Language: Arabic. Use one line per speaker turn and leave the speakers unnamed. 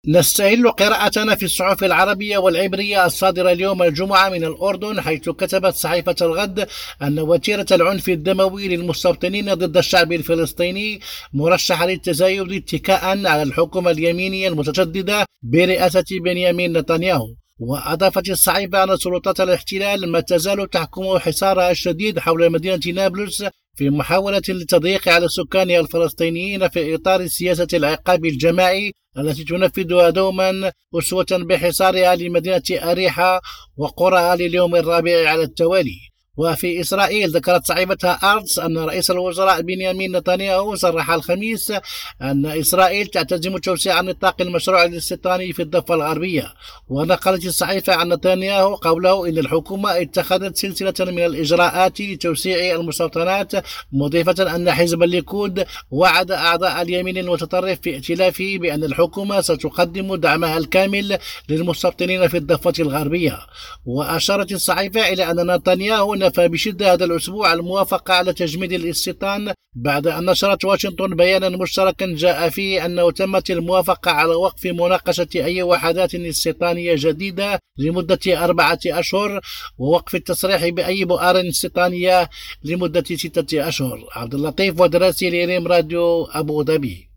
نستهل قراءتنا في الصحف العربية والعبرية الصادرة اليوم الجمعة من الأردن، حيث كتبت صحيفة الغد أن وتيرة العنف الدموي للمستوطنين ضد الشعب الفلسطيني مرشحة للتزايد اتكاء على الحكومة اليمينية المتشددة برئاسة بنيامين نتنياهو. وأضافت الصحيفة أن سلطات الاحتلال ما تزال تحكم حصارها الشديد حول مدينة نابلس في محاولة للتضييق على سكانها الفلسطينيين في إطار سياسة العقاب الجماعي التي تنفذها دوما، أسوة بحصارها لمدينة أريحة وقرى لليوم الرابع على التوالي. وفي إسرائيل ذكرت صحيفتها أرتس أن رئيس الوزراء بنيامين نتنياهو صرح الخميس أن إسرائيل تعتزم توسيع نطاق المشروع الاستيطاني في الضفة الغربية. ونقلت الصحيفة عن نتنياهو قوله إن الحكومة اتخذت سلسلة من الإجراءات لتوسيع المستوطنات، مضيفة أن حزب الليكود وعد أعضاء اليمين المتطرف في ائتلافه بأن الحكومة ستقدم دعمها الكامل للمستوطنين في الضفة الغربية. وأشارت الصحيفة إلى أن نتنياهو نفى بشدة هذا الأسبوع الموافقة على تجميد الاستيطان، بعد أن نشرت واشنطن بيانا مشتركا جاء فيه أنه تمت الموافقة على وقف مناقشة أي وحدات استيطانية جديدة لمدة 4 أشهر، ووقف التصريح بأي بؤر استيطانية لمدة 6 أشهر. عبد اللطيف ودراسي لريم راديو أبو ظبي.